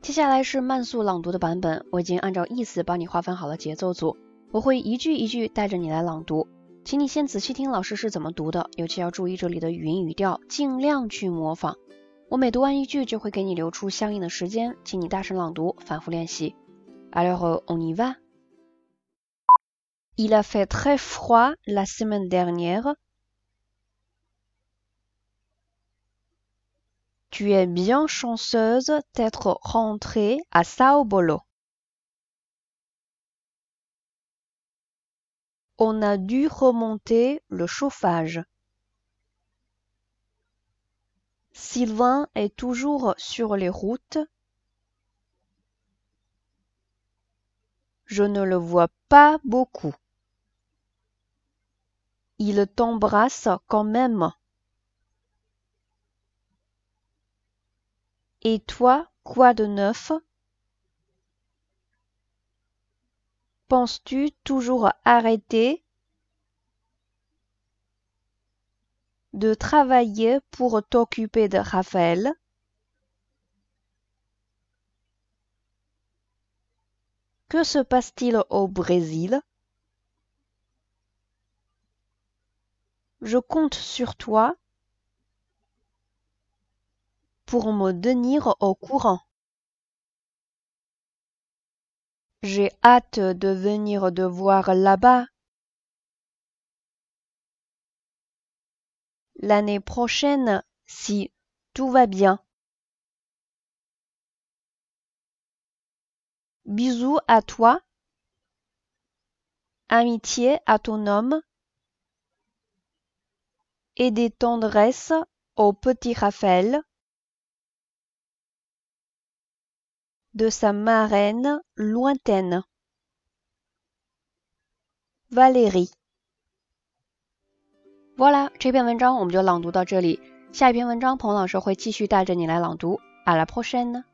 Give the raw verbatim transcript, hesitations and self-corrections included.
接下来是慢速朗读的版本，我已经按照意思帮你划分好了节奏组，我会一句一句带着你来朗读，请你先仔细听老师是怎么读的，尤其要注意这里的语音语调，尽量去模仿。我每读完一句就会给你留出相应的时间，请你大声朗读，反复练习。Alors, on y va. Il a fait très froid la semaine dernière. Tu es bien chanceuse d'être rentrée à Sao Paulo. On a dû remonter le chauffage. Sylvain est toujours sur les routes. Je ne le vois pas beaucoup. Il t'embrasse quand même. Et toi, quoi de neuf? Penses-tu toujours arrêter de travailler pour t'occuper de Raphaël? Que se passe-t-il au Brésil? Je compte sur toi pour me tenir au courant. J'ai hâte de venir te voir là-bas l'année prochaine si tout va bien. Bisous à toi, amitié à ton homme et des tendresses au petit Raphaël de sa marraine lointaine, Valérie. Voilà， 这篇文章我们就朗读到这里。下一篇文章，彭老师会继续带着你来朗读。À la prochaine。